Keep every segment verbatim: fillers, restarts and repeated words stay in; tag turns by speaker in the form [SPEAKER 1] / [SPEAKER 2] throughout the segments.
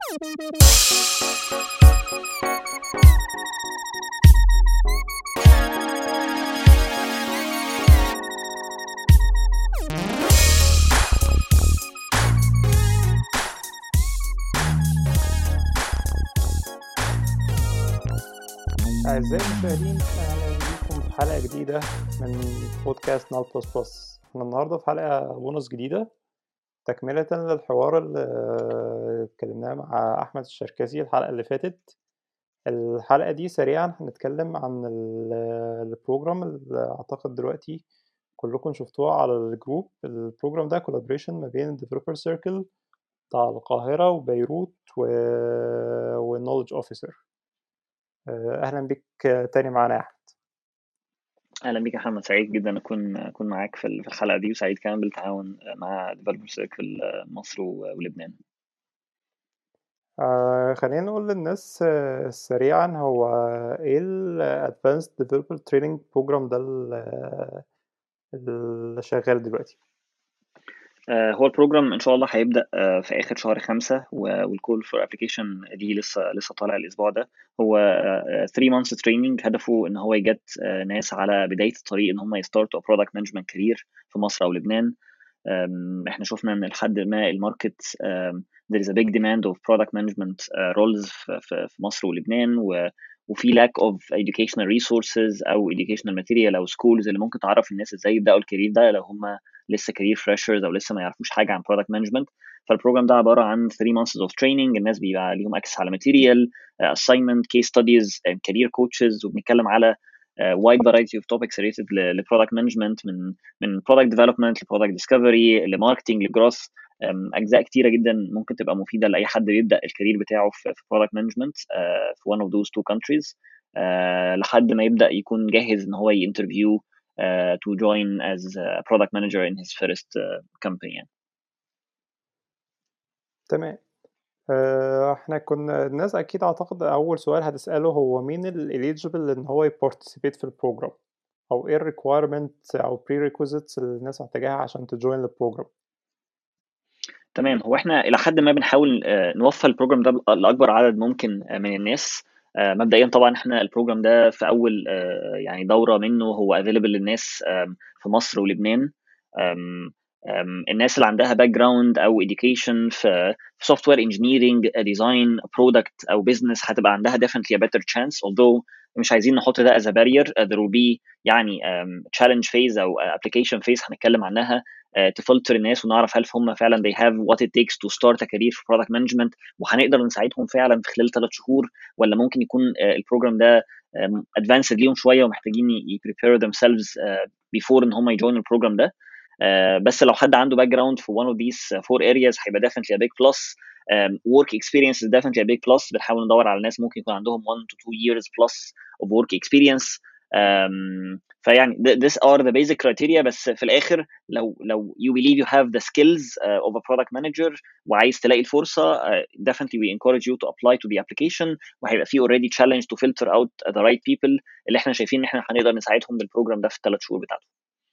[SPEAKER 1] أعزائي المشاهدين، أهلا بكم في حلقة جديدة من بودكاست نال بلس بلس. احنا النهاردة في حلقة بونص جديدة تكملة للحوار اللي اتكلمناه مع أحمد الشركسي الحلقة اللي فاتت. الحلقة دي سريعا هنتكلم عن البروجرام اللي أعتقد دلوقتي كلكم شفتوها على الجروب. البروجرام ده كولابريشن ما بين Developer Circle بتاع القاهرة وبيروت والنولج أوفيسر. أهلا بك تاني معانا يا أحمد.
[SPEAKER 2] اهلا بيك يا محمد، سعيد جدا اكون اكون معاك في الحلقه دي، وسعيد كمان بالتعاون مع ديفلوبر سيركل مصر ولبنان.
[SPEAKER 1] آه خلينا نقول للناس آه سريعا، هو ايه ال Advanced Developer Training Program ده اللي شغال دلوقتي؟
[SPEAKER 2] آه هو البروجرام ان شاء الله هيبدا آه في اخر شهر خمسة، والكول فور ابلكيشن دي لسه لسه طالع الاسبوع ده. هو ثلاثة مانثs تريننج، هدفه ان هو يجت آه ناس على بدايه الطريق ان هم يستارتوا برودكت مانجمنت كارير في مصر او لبنان. احنا شفنا ان لحد ما الماركت there is a big demand of product management uh, roles في في مصر ولبنان، و وفي lack of educational resources او educational material او schools اللي ممكن تعرف الناس ازاي يبداوا الكارير ده لو هم لسه career freshers او لسه ما يعرفوش حاجه عن product management. فالبروجرام ده عباره عن ثلاثة months of training، الناس بيبقى ليهم access على material, uh, assignment, case studies, and career coaches، وبنتكلم على uh, wide variety of topics related ل product management، من من product development ل product discovery لماركتنج لجروث. اجزاء كتيره جدا ممكن تبقى مفيده لاي حد بيبدا الكارير بتاعه في product management uh, في one of those two countries uh, لحد ما يبدا يكون جاهز ان هو يinterview uh, to join as a product manager in his first uh, company يعني.
[SPEAKER 1] تمام. آه احنا كنا الناس اكيد اعتقد اول سؤال هتساله هو مين الاليجيبل ان هو يبارتيسيبيت في البروجرام، او ايه الريكويرمنت او prerequisites اللي الناس محتاجاها عشان تجوين البروجرام؟
[SPEAKER 2] تمام، هو احنا الى حد ما بنحاول نوفر البروجرام ده لاكبر عدد ممكن من الناس. مبدئيا طبعا احنا البروجرام ده في اول يعني دوره منه هو افيلبل للناس في مصر ولبنان. الناس اللي عندها باك جراوند او education في سوفت وير انجينيرنج، ديزاين، برودكت او بزنس هتبقى عندها definitely a better chance. although مش عايزين نحط ده as a barrier. uh, there will be يعني um, challenge phase او application phase هنتكلم عنها uh, تفلتر الناس ونعرف هل هم فعلا they have what it takes to start a career في product management، وهنقدر نساعدهم فعلا في خلال ثلاث شهور، ولا ممكن يكون uh, البروجرام ده um, advanced ليهم شويه ومحتاجين ي prepare themselves uh, before ان هم يجوين البروجرام ده. Uh, بس لو حد عنده باك جراوند في one of these four areas هيبقى definitely a big plus. um, work experience is definitely a big plus. بنحاول ندور على ناس ممكن يكون عندهم one to two years plus of work experience. um, فيعني this are the basic criteria. بس في الآخر لو لو you believe you have the skills uh, of a product manager وعايز تلاقي الفرصة uh, definitely we encourage you to apply to the application، وهيبقى في already challenge to filter out the right people اللي احنا شايفين ان احنا هنقدر نساعدهم بالبروجرام ده في الثلاث شهور بتاعته.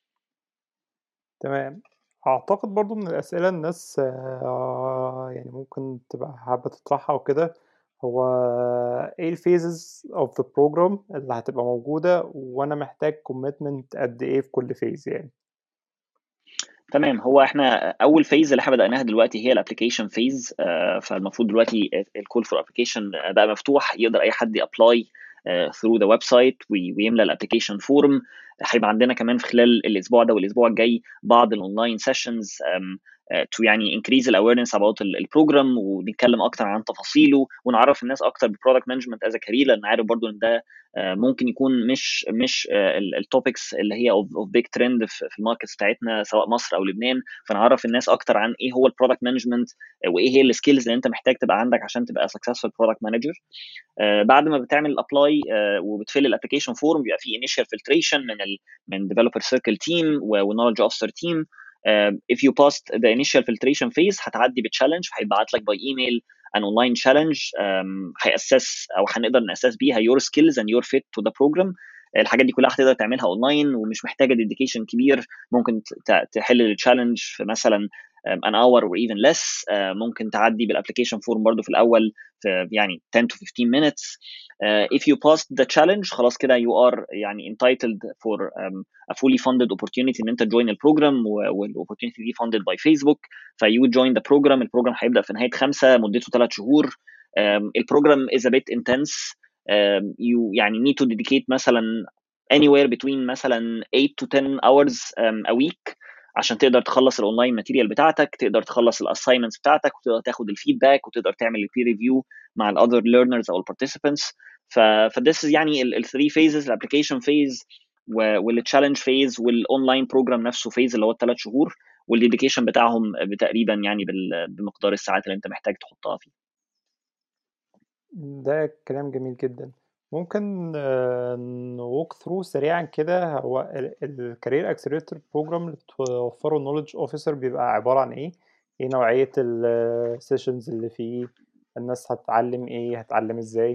[SPEAKER 1] تمام. اعتقد برضو من الاسئله الناس آه يعني ممكن تبقى حابه تطرحها وكده، هو ايه الفيزز اوف ذا بروجرام اللي هتبقى موجوده، وانا محتاج كوميتمنت قد ايه في كل فيز يعني؟
[SPEAKER 2] تمام، هو احنا اول فيز اللي احنا بدأناها دلوقتي هي الابلكيشن فيز. فالمفروض دلوقتي الكول فور ابلكيشن بقى مفتوح، يقدر اي حد يابلاي ثرو ذا ويب سايت ويملى الابلكيشن فورم. هيبقى عندنا كمان في خلال الاسبوع ده والاسبوع الجاي بعض الاونلاين سيشنز تو يعني increase الاويرنس about البروجرام، ونتكلم اكتر عن تفاصيله ونعرف الناس اكتر بالبرودكت مانجمنت از كارير، لان عارف برضو ان ده ممكن يكون مش مش التوبكس اللي هي اوف بيج ترند في الماركت بتاعتنا سواء مصر او لبنان. فنعرف الناس اكتر عن ايه هو البرودكت مانجمنت وايه هي السكيلز اللي انت محتاج تبقى عندك عشان تبقى سكسسفul برودكت مانجر. بعد ما بتعمل الابلاي وبتفل الابلكيشن فورم بيبقى في انيشال فلتريشن من ال من ديفلوبر سيركل تيم ونولج اوفيسر تيم. Uh, if you passed the initial filtration phase هتعدي بتشالنج، هيبعت لك باي ايميل an online challenge um, هيأسس او هنقدر نأسس بيها your skills and your fit to the program. الحاجات دي كلها هتقدر تعملها اونلاين ومش محتاجه ديديكيشن كبير. ممكن تحل التشالنج في مثلا um, an hour or even less. uh, ممكن تعدي بالapplication form برضو في الأول في يعني ten to fifteen minutes. uh, if you passed the challenge خلاص كده you are يعني entitled for um, a fully funded opportunity ان انت join البروجرام والopportunity دي funded by Facebook. ف you join the program. البروجرام هيبدأ في نهاية خمسة مدته ثلاث شهور. um, البروجرام is a bit intense. um, you يعني need to dedicate مثلا anywhere between مثلا eight to ten hours um, a week عشان تقدر تخلص الاونلاين ماتيريال بتاعتك، تقدر تخلص الاساينمنتس بتاعتك، وتقدر تاخد الفيدباك، وتقدر تعمل البير ريفيو مع الاذر ليرنرز او البارتيسيبنتس. ف فديس يعني الثري فيزز، الابلكيشن فيز والتشالنج فيز والاونلاين بروجرام نفسه فيز اللي هو الثلاث شهور، والديديكيشن بتاعهم تقريبا يعني بمقدار الساعات اللي انت محتاج تحطها فيه.
[SPEAKER 1] ده كلام جميل جدا. ممكن نوك ثرو سريعا كده، هو الكارير اكسلريتور بروجرام اللي بتوفره النولج اوفيسر بيبقى عبارة عن ايه؟ ايه نوعية السيشنز اللي فيه؟ الناس هتتعلم ايه؟ هتتعلم ازاي؟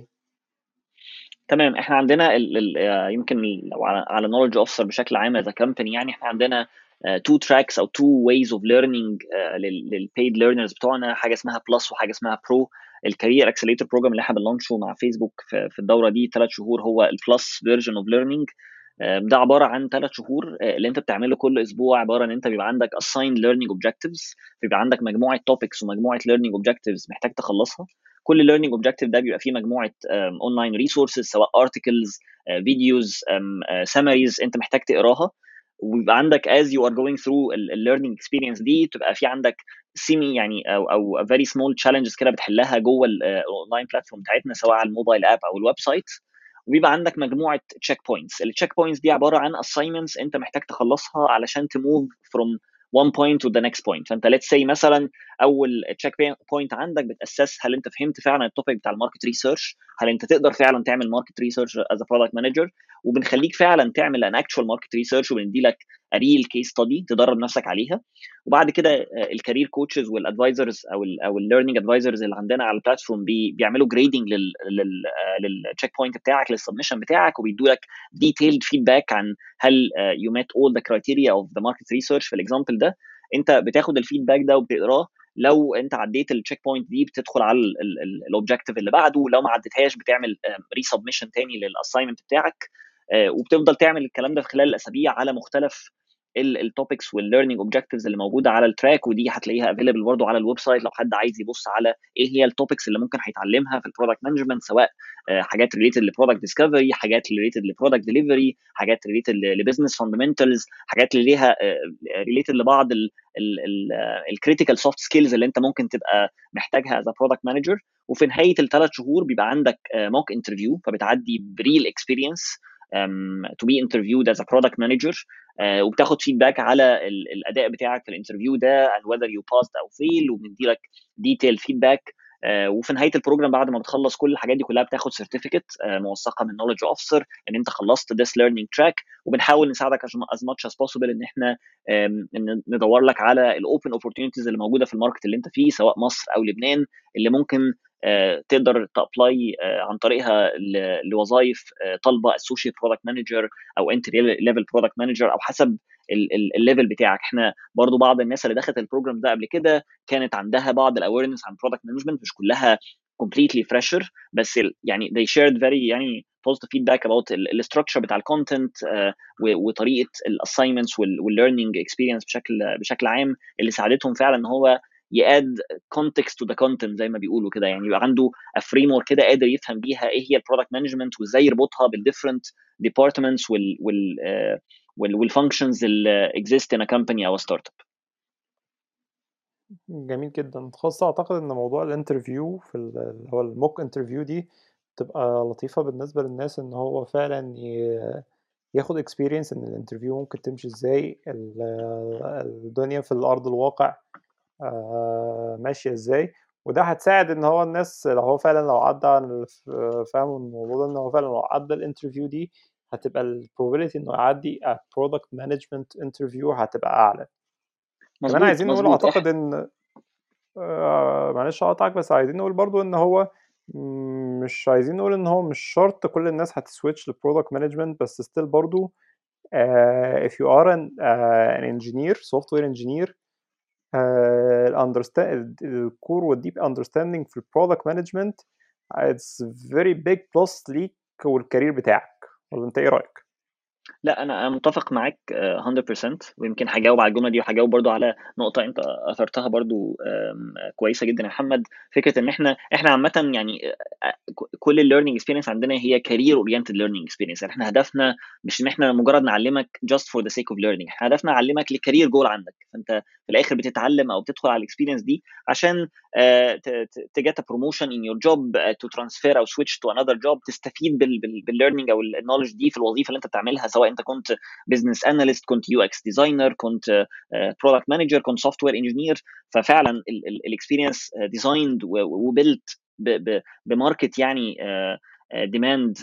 [SPEAKER 2] تمام. احنا عندنا ال ال يمكن لو على نولج اوفيسر بشكل عام as a company، يعني احنا عندنا تو تراكس او تو ways of learning للبيد ليرنرز بتوعنا، حاجه اسمها بلس وحاجه اسمها برو. الكارير اكسلريتور بروجرام اللي احنا بنلانشه مع فيسبوك في الدوره دي ثلاث شهور هو البلس فيرجن اوف ليرنينج. ده عباره عن ثلاث شهور اللي انت بتعمله كل اسبوع، عباره ان انت بيبقى عندك assigned learning objectives، بيبقى عندك مجموعه topics ومجموعه learning objectives محتاج تخلصها. كل learning objective ده بيبقى فيه مجموعه اونلاين ريسورسز، سواء articles، فيديوز، summaries انت محتاج تقراها. ويبقى عندك as you are going through ال learning experience دي تبقى في عندك سيمي يعني او او very small challenges كده بتحلها جوه الاونلاين بلاتفورم بتاعتنا، سواء على الموبايل اب او الويب سايت. وبيبقى عندك مجموعه تشيك بوينتس. التشيك بوينتس دي عباره عن assignments انت محتاج تخلصها علشان تموف from one point to the next point. فانت let's say مثلا اول تشيك بوينت عندك بتاسس هل انت فهمت فعلا التوبيك بتاع الماركت ريسيرش، هل انت تقدر فعلا تعمل ماركت ريسيرش از ا برودكت مانجر، وبنخليك فعلا تعمل ان اكشوال ماركت ريسيرش، وبندي لك ريل كيس ستدي تدرب نفسك عليها. وبعد كده الكارير كوتشز والادفايزرز او ال او الليرنينج ادفايزرز اللي عندنا على البلاتفورم بي بيعملوا جريدنج لل للتشيك بوينت بتاعك، للسبمشن بتاعك، وبيدوا لك ديتيلد فيدباك عن هل يو ميت اول ذا كرايتيريا اوف ذا ماركت ريسيرش. في الاكزامبل ده انت بتاخد الفيدباك ده وبتقراه. لو انت عديت التشيك بوينت دي بتدخل على الاوبجكتيف اللي بعده، لو ما عديتهاش بتعمل ري سبمشن تاني للاساينمنت بتاعك. وبتفضل تعمل الكلام ده في خلال الاسابيع على مختلف التوبكس والليرنينج اوبجكتيفز اللي موجوده على التراك. ودي هتلاقيها افيلبل برضه على الويب سايت لو حد عايز يبص على ايه هي التوبكس اللي ممكن هيتعلمها في البرودكت مانجمنت، سواء حاجات ريليتد لبرودكت ديسكفري، حاجات ريليتد لبرودكت ديليفري، حاجات ريليتد لبزنس فاندمنتالز، حاجات اللي ليها ريليتد لبعض الكريتيكال سوفت سكيلز اللي انت ممكن تبقى محتاجها از برودكت مانجر. وفي نهايه الثلاث شهور بيبقى عندك موك انترفيو، فبتعدي بريل اكسبيرينس um, to be interviewed as a product manager. uh, وبتاخد فيدباك على ال- الاداء بتاعك في الانترفيو ده and whether you passed او fail، وبندي لك detailed feedback. uh, وفي نهايه البروجرام بعد ما بتخلص كل الحاجات دي كلها بتاخد سيرتيفيكت uh, موثقه من knowledge officer ان انت خلصت this learning track. وبنحاول نساعدك as much as possible ان احنا um, ندور لك على الاوبن opportunities اللي موجوده في الماركت اللي انت فيه، سواء مصر او لبنان، اللي ممكن Uh, تقدر تابلاي uh, عن طريقها لوظائف uh, طالبه associate product manager او entry level product manager، او حسب الليفل بتاعك. احنا برضو بعض الناس اللي دخلت البروجرام ده قبل كده كانت عندها بعض الاويرنس عن product management، مش كلها completely fresher، بس يعني they shared very يعني positive feedback about الستراكشر بتاع الكونتنت uh, وطريقه الاساينمنتس والlearning experience بشكل بشكل عام، اللي ساعدتهم فعلا ان هو ياد context to the content زي ما بيقولوا كده. يعني يبقى عنده a framework كده قادر يفهم بيها ايه هي البرودكت مانجمنت، وازاي يربطها بالديفرنت departments وال وال وال والfunctions اللي exist in a company او a startup.
[SPEAKER 1] جميل جدا. خاصة اعتقد ان موضوع الانترفيو في اللي هو الموك انترفيو دي تبقى لطيفة بالنسبة للناس، ان هو فعلا ياخد experience ان الانترفيو ممكن تمشي ازاي، الدنيا في الارض الواقع ماشية ازاي. وده هتساعد ان هو الناس لو هو فعلا لو عدى عن فاهم الموضوع ده، ان هو فعلا لو عدى الانترفيو دي هتبقى البروبابيلتي انه يعدي برودكت مانجمنت انترفيو هتبقى اعلى. كمان
[SPEAKER 2] مظبوط
[SPEAKER 1] عايزين نقول
[SPEAKER 2] مظبوط.
[SPEAKER 1] اعتقد ان آه معلش اقطعك، بس عايزين نقول برضو ان هو مش عايزين نقول ان هو مش شرط كل الناس هتسويتش للبرودكت مانجمنت، بس ستيل برضو uh, if you are an, uh, an engineer software engineer uh, understand الكور والديب understanding في البرودكت مانجمنت it's very big plus ليك والكارير بتاعك، ولا انت ايه رايك؟
[SPEAKER 2] لا انا انا متفق معاك آه، مية بالمية، ويمكن هجاوب على الجمله دي وهجاوب برضو على نقطه انت اثرتها برضو آم، كويسه جدا يا محمد. فكره ان احنا احنا عامه يعني آه، ك- كل الليرنينج اكسبيرينس عندنا هي كارير اورينتد ليرنينج اكسبيرينس. يعني احنا هدفنا مش ان احنا مجرد نعلمك just for the sake of learning، احنا هدفنا نعلمك لكارير جول عندك. فانت في الاخر بتتعلم او بتدخل على الاكسبيرينس دي عشان to get a promotion in your job, uh, to transfer او switch to another job، تستفيد بالليرنينج او النولج دي في الوظيفه اللي انت بتعملها، سواء انت كنت بزنس اناليست، كنت يو اكس ديزاينر، كنت برودكت مانجر، كنت سوفت وير انجينير. ففعلا الاكسبيرينس ديزايند وبيلت بماركت يعني ديماند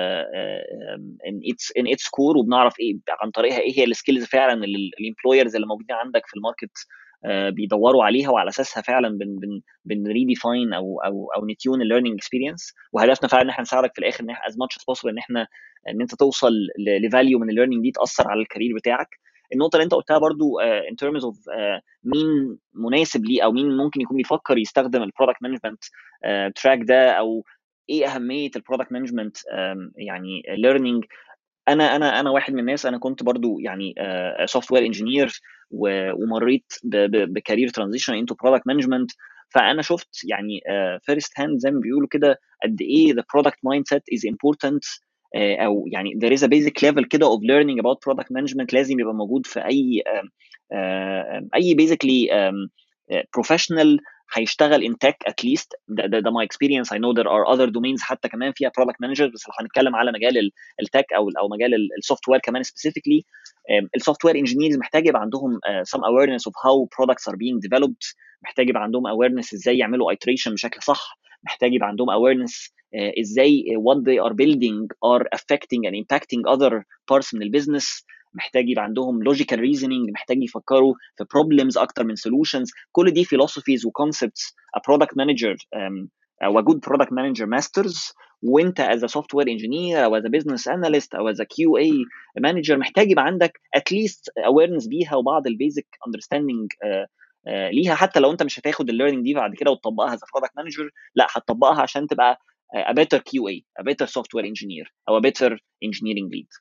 [SPEAKER 2] ان اتس ان اتس كور، وبنعرف ايه عن طريقها ايه هي السكيلز فعلا اللي الامبلويرز اللي موجودين عندك في الماركت آه، بيدوروا عليها، وعلى اساسها فعلا بن بن بنريديفاين او او او نتيون الليرنينج اكسبيرينس. وهدفنا فعلا ان احنا نساعدك في الاخر ان احنا از ماتش از بوسيبل ان احنا ان انت توصل لفاليو من الليرنينج دي تاثر على الكارير بتاعك. النقطه اللي انت قلتها برضو ان ترمز اوف مين مناسب ليه او مين ممكن يكون بيفكر يستخدم البرودكت مانجمنت تراك ده، او ايه اهميه البرودكت مانجمنت يعني ليرنينج. انا انا انا واحد من الناس، انا كنت برضو يعني سوفت وير انجينير ومريت بكارير ترانزيشن انتو برودكت مانجمنت. فانا شفت يعني فيرست هاند زي ما بيقولوا كده قد ايه the product mindset is important، آه، او يعني there is a basic level كده of learning about product management لازم يبقى موجود في اي آم، آم، اي basically آم، آه، professional هيشتغل in tech at least. ده ده, ده my experience. I know there are other domains حتى كمان فيها product managers، بس لو هنتكلم على مجال التك او او مجال السوفت وير كمان سبيسيفيكلي، السوفت وير انجينيرز محتاج يبقى عندهم uh, some awareness of how products are being developed، محتاج يبقى عندهم awareness ازاي يعملوا iteration بشكل صح، محتاج يبقى عندهم awareness uh, ازاي what they are building are affecting and impacting other parts من البيزنس، محتاج يبقى عندهم logical reasoning، محتاج يفكروا في problems اكتر من solutions. كل دي philosophies و concepts a product manager um, او a good product manager masters. وانت as a software engineer او as a business analyst او as a كيو اي manager محتاج يبقى عندك at least awareness بيها وبعض البيزك understanding uh, uh, ليها، حتى لو انت مش هتاخد الليرنينج دي بعد كده وتطبقها as a product manager، لا هتطبقها عشان تبقى a better كيو اي a better software engineer او a better engineering lead.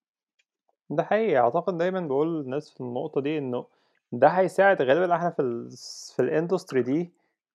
[SPEAKER 1] ده حقيقي، اعتقد دايما بقول للناس في النقطة دي انه ده هيساعد غالبا احنا في ال في الاندستري دي.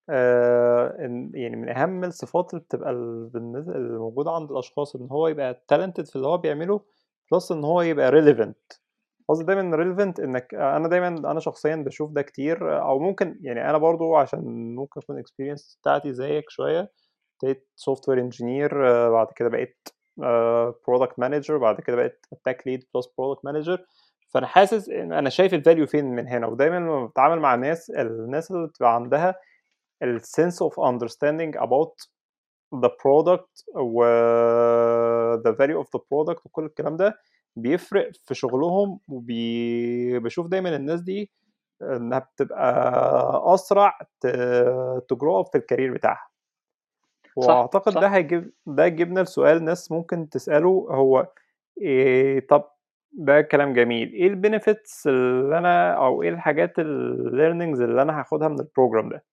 [SPEAKER 1] آه إن يعني من اهم الصفات اللي بتبقى ال- بالنسبة الموجودة عند الاشخاص ان هو يبقى talented في اللي هو بيعمله، بلس ان هو يبقى relevant. قصدي دايما relevant انك انا دايما انا شخصيا بشوف ده كتير، او ممكن يعني انا برضو عشان ممكن اكون experience بتاعتي زيك شوية. ابتديت سوفت وير انجينير، بعد كده بقيت برودكت مانجر، بعد كده بقيت تك ليد بلس برودكت مانجر. فانا حاسس ان انا شايف الفاليو فين من هنا. ودايما لما بتعامل مع الناس الناس اللي بتبقى عندها السنس اوف understanding about the product و the value of the product وكل الكلام ده بيفرق في شغلهم. وبشوف دايما الناس دي انها بتبقى اسرع تجرؤ في الكارير بتاعها.
[SPEAKER 2] صح
[SPEAKER 1] واعتقد ده
[SPEAKER 2] صح.
[SPEAKER 1] هيجيب ده يجيبنا لسؤال ناس ممكن تسأله، هو إيه؟ طب ده كلام جميل، ايه البينيفيتس اللي انا او ايه الحاجات الليرنينجز اللي انا هاخدها من البروجرام ده؟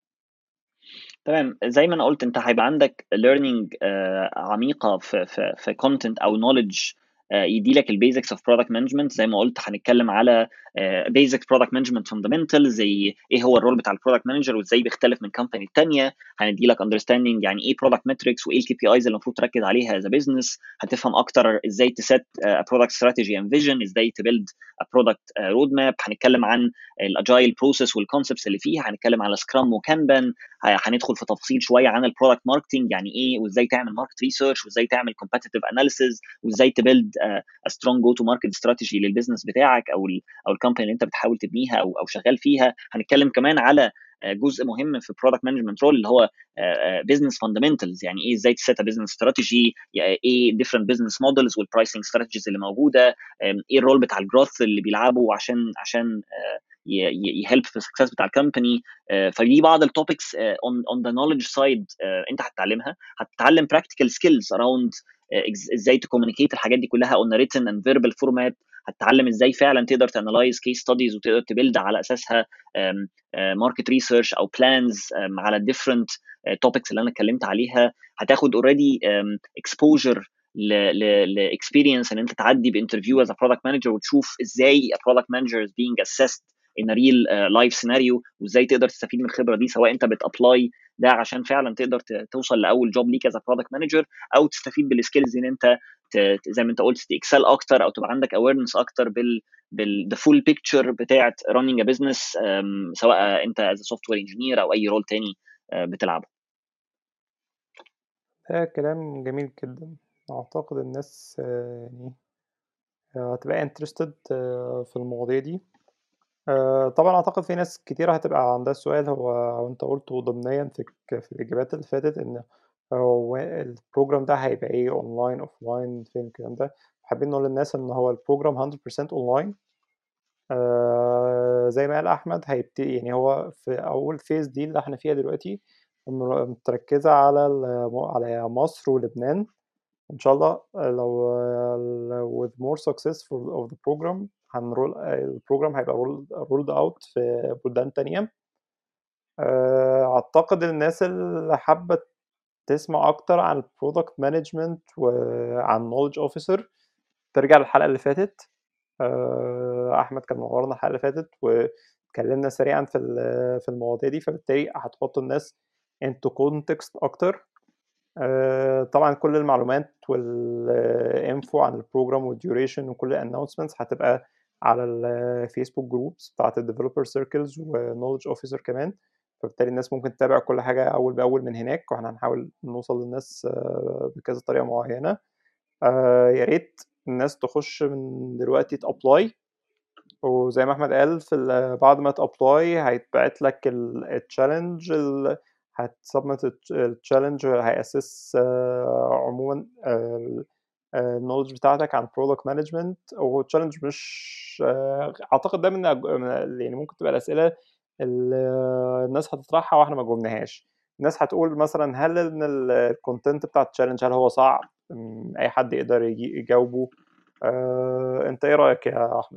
[SPEAKER 2] تمام، زي ما انا قلت انت هيبقى عندك learning آه، عميقه في في في content او knowledge آه، يديلك البيزكس اوف برودكت مانجمنت. زي ما قلت هنتكلم على بيزك برودكت مانجمنت فاندمنتال، زي ايه هو الرول بتاع البرودكت مانجر وازاي بيختلف من كمباني الثانيه. هنديلك اندرستاندينج يعني ايه برودكت ماتريكس وايه الكي بي ايز اللي المفروض تركز عليها از بزنس. هتفهم اكتر ازاي تسيت برودكت استراتيجي اند فيجن، ازاي تبيلد برودكت رود ماب. هنتكلم عن الاجايل بروسيس والكونسبتس اللي فيها، هنتكلم على سكرام وكانبان. هندخل في تفصيل شويه عن البرودكت ماركتنج يعني ايه، وازاي تعمل ماركت ريسيرش، وازاي تعمل كومبتيتيف اناليسيز، وازاي تبيلد سترونج جو تو ماركت استراتيجي للبيزنس بتاعك او ال او الكومباني اللي انت بتحاول تبنيها او او شغال فيها. هنتكلم كمان على جزء مهم في برودكت مانجمنت رول اللي هو بزنس فاندمنتالز، يعني ايه ازاي تسيت بزنس استراتيجي، ايه ديفرنت بزنس مودلز والبرايسنج استراتيجيز اللي موجوده، ايه الرول بتاع الجروث اللي بيلعبه عشان عشان يهلب في السكسس بتاع الكومباني. فدي بعض التوبكس اون اون ذا نوليدج سايد انت هتتعلمها. هتتعلم براكتيكال سكيلز اراوند ازاي تكومينيكيت الحاجات دي كلها اون ريتن اند فيربال فورمات. هتتعلم ازاي فعلا تقدر تانلايز كيس ستاديز وتقدر تبيلد على اساسها ماركت ريسيرش او بلانز على الديفرنت توبكس اللي انا اتكلمت عليها. هتاخد اوريدي اكسبوجر لاكسبيرينس ان انت تعدي بانترفيو از برودكت مانجر وتشوف ازاي برودكت مانجر از بينج اسيست ان ريل لايف سيناريو، وازاي تقدر تستفيد من الخبره دي سواء انت بتابلاي ده عشان فعلا تقدر توصل لاول جوب ليك از برودكت مانجر، او تستفيد بالسكيلز ان انت زي ما انت قلت تكسل اكتر او تبقى عندك اويرنس اكتر بال بال the full picture بتاعت running a business سواء انت as a software engineer او اي رول تاني بتلعبه.
[SPEAKER 1] ده كلام جميل جدا. اعتقد الناس يعني هتبقى interested في المواضيع دي. طبعا اعتقد في ناس كتير هتبقى عندها السؤال هو انت قلته ضمنيا في في الاجابات اللي فاتت ان هو البروجرام ده هيبقى ايه، اونلاين اوفلاين فين الكلام ده. حابين نقول للناس ان هو البروجرام مية بالمية اونلاين. آه زي ما قال احمد هيبتدي، يعني هو في اول فيز دي اللي احنا فيها دلوقتي متركزه على على مصر ولبنان. ان شاء الله لو with more successful of the program هنرول البروجرام هيبقى rolled out في بلدان تانية. اعتقد الناس اللي حابه تسمع اكتر عن البرودكت مانجمنت وعن knowledge officer ترجع للحلقه اللي فاتت. احمد كان منورنا الحلقه اللي فاتت واتكلمنا سريعا في في المواضيع دي، فبالتالي هتحط الناس into context اكتر. طبعا كل المعلومات والانفو عن البروجرام والديوريشن وكل الانونسمنتس هتبقى على الفيسبوك جروبس بتاعت الديفلوبر سيركلز ونولج اوفيسر كمان، فبالتالي الناس ممكن تتابع كل حاجه اول باول من هناك، واحنا هنحاول نوصل للناس بكذا طريقه معينه. يا ريت الناس تخش من دلوقتي تابلاي، وزي ما احمد قال في بعد ما تابلاي هيتبعت لك التشالنج، هتسبمت التشالنج هيأسس عموما النولج بتاعتك عن برودكت مانجمنت. والتشالنج مش اعتقد ده من يعني ممكن تبقى الاسئله اللي الناس هتطرحها واحنا ما جاوبناهاش. الناس هتقول مثلا هل ان الكونتنت بتاع التشالنج هل هو صعب اي حد يقدر يجاوبه؟ انت ايه رايك يا احمد؟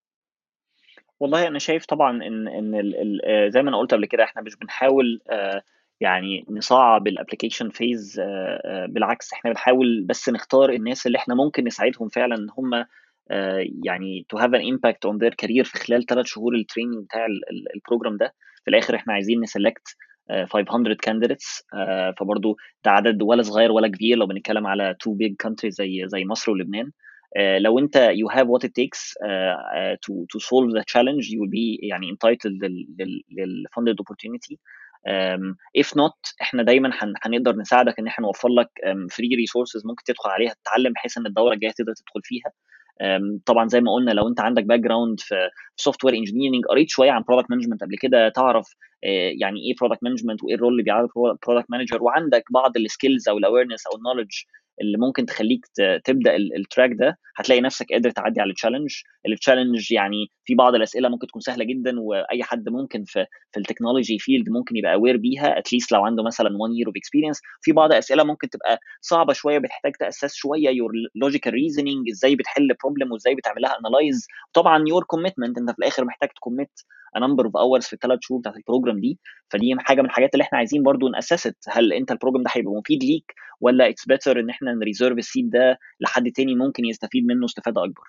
[SPEAKER 2] والله انا شايف طبعا ان ان ال ال زي ما انا قلت قبل كده احنا مش بنحاول يعني نصعب الابلكيشن فيز، بالعكس احنا بنحاول بس نختار الناس اللي احنا ممكن نساعدهم فعلا ان هم يعني to have an impact on their career في خلال ثلاث شهور التريننج بتاع البروجرام ده. في الاخر احنا عايزين نسلكت خمسمية candidates، فبرضو ده عدد ولا صغير ولا كبير لو بنتكلم على two big countries زي زي مصر ولبنان. Uh, لو انت you have what it takes uh, uh, to to solve the challenge you will be يعني entitled لل, لل, لل funded opportunity. um, if not احنا دايما هن, هنقدر نساعدك ان احنا نوفر لك um, free resources ممكن تدخل عليها تتعلم بحيث ان الدوره الجايه تقدر تدخل فيها. um, طبعا زي ما قلنا لو انت عندك باك جراوند في سوفت وير انجينيرنج، قريت شويه عن برودكت مانجمنت قبل كده، تعرف uh, يعني ايه برودكت مانجمنت وايه الرول اللي بيلعبه برودكت مانجر، وعندك بعض السكيلز او الاويرنس او النولج اللي ممكن تخليك تبدا التراك ده، هتلاقي نفسك قادر تعدي على التشالنج. التشالنج يعني في بعض الاسئله ممكن تكون سهله جدا واي حد ممكن في في التكنولوجي فيلد ممكن يبقى اوير بيها اتليست لو عنده مثلا one year of experience. في بعض اسئله ممكن تبقى صعبه شويه بتحتاج تاسس شويه يور لوجيكال ريزنينج، ازاي بتحل بروبلم وازاي بتعملها انالايز. طبعا يور كوميتمنت انت في الاخر محتاج تكوميت a number of hours في الثلاث شهور بتاعت البروجرام دي. فدي حاجه من الحاجات اللي احنا عايزين برضو ناسست، هل انت البروجرام ده هيبقى مفيد ليك ولا اتس بيتر ان احنا نريزيرف السيت ده لحد تاني ممكن يستفيد منه استفاده اكبر.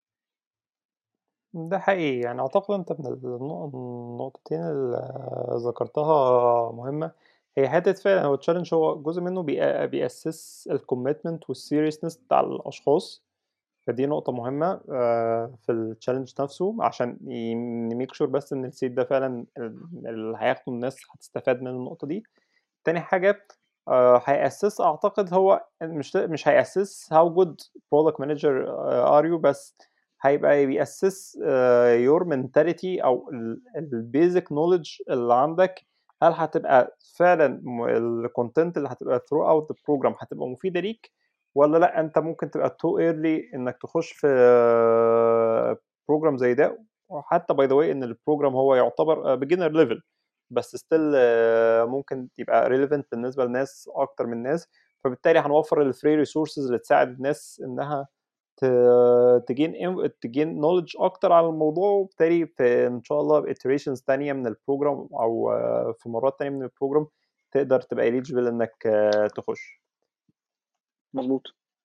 [SPEAKER 1] ده حقيقي، يعني اعتقد انت من النقطتين اللي ذكرتها مهمه، هي حته فعلا هو التشالنج هو جزء منه بيأسس الكوميتمنت والسيريسنس بتاع الاشخاص، فدي نقطه مهمه في التشالنج نفسه عشان نميك شور بس ان السيت ده فعلا اللي هياخده الناس هتستفاد من النقطه دي. تاني حاجه هيأسس اعتقد هو مش مش هيأسس how good product manager are you، بس هيبقى بيأسس your mentality او البيزك نوليدج اللي عندك، هل هتبقى فعلا الكونتنت اللي هتبقى throughout the program هتبقى مفيدة ليك ولا لا انت ممكن تبقى too early انك تخش في بروجرام زي ده. وحتى باي ذا واي ان البروجرام هو يعتبر beginner level بس ستيل ممكن يبقى relevant بالنسبه لناس اكتر من ناس، فبالتالي هنوفر الفري ريسورسز اللي تساعد الناس انها تجين تجين نولج اكتر على الموضوع، وبالتالي في ان شاء الله iterations تانية من البروجرام او في مرات تانية من البروجرام تقدر تبقى eligible انك تخش.
[SPEAKER 2] مظبوط.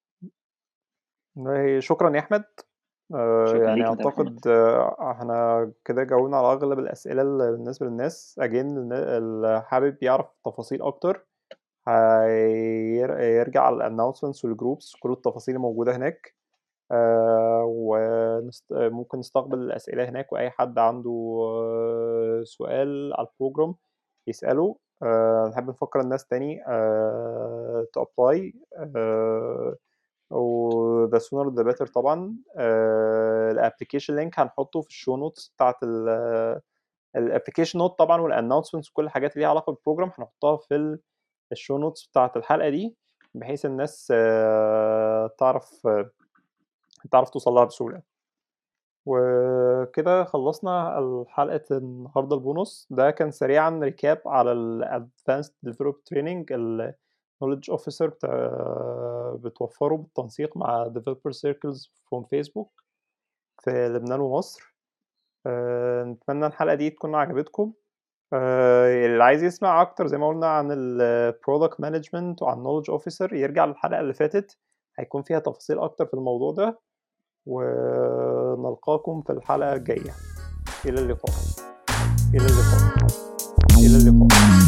[SPEAKER 1] شكرا يا احمد.
[SPEAKER 2] شكرا
[SPEAKER 1] يعني
[SPEAKER 2] ليك انت يا
[SPEAKER 1] اعتقد
[SPEAKER 2] محمد.
[SPEAKER 1] احنا كده جاوبنا على اغلب الاسئله اللي بالنسبه للناس. اجين اللي حابب يعرف تفاصيل اكتر هيرجع على الانونسمنتس والجروبس، كل التفاصيل موجوده هناك. آه وممكن نستقبل الاسئله هناك، واي حد عنده سؤال على البروجرام يساله. آه نحب نفكر الناس تاني آه تابلاي آه و the sooner the better طبعا. الابلكيشن لينك هنحطه في الشو نوتس بتاعت الابلكيشن نوت طبعا، والانونسمنتس وكل الحاجات اللي ليها علاقه بالبروجرام هنحطها في الشو نوتس بتاعت الحلقه دي، بحيث الناس تعرف تعرف توصل لها بسهوله. وكده خلصنا الحلقه النهارده البونص ده. كان سريعا ريكاب على الادفانسد ديفلوب تريننج knowledge officer بتوفره بالتنسيق مع developer circles from Facebook في لبنان ومصر. أه نتمنى الحلقة دي تكون عجبتكم. أه اللي عايز يسمع أكتر زي ما قلنا عن ال product management وعن knowledge officer يرجع للحلقة اللي فاتت، هيكون فيها تفاصيل أكتر في الموضوع ده. ونلقاكم في الحلقة الجاية. إلى اللقاء. إلى اللقاء. إلى اللقاء.